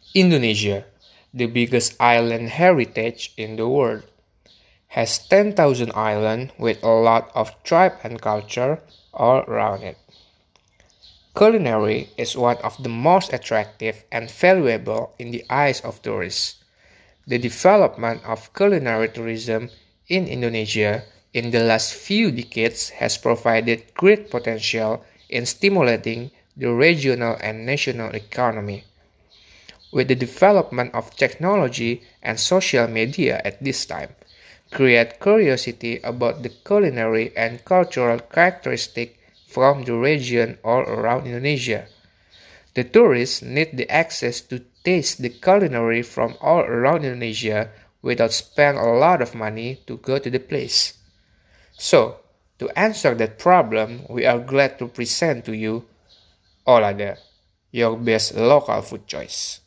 Indonesia, the biggest island heritage in the world, has 10,000 islands with a lot of tribe and culture all around it. Culinary is one of the most attractive and valuable in the eyes of tourists. The development of culinary tourism in Indonesia in the last few decades has provided great potential in stimulating the regional and national economy. With the development of technology and social media at this time, create curiosity about the culinary and cultural characteristics from the region all around Indonesia. The tourists need the access to taste the culinary from all around Indonesia without spending a lot of money to go to the place. So, to answer that problem, we are glad to present to you Olada, your best local food choice.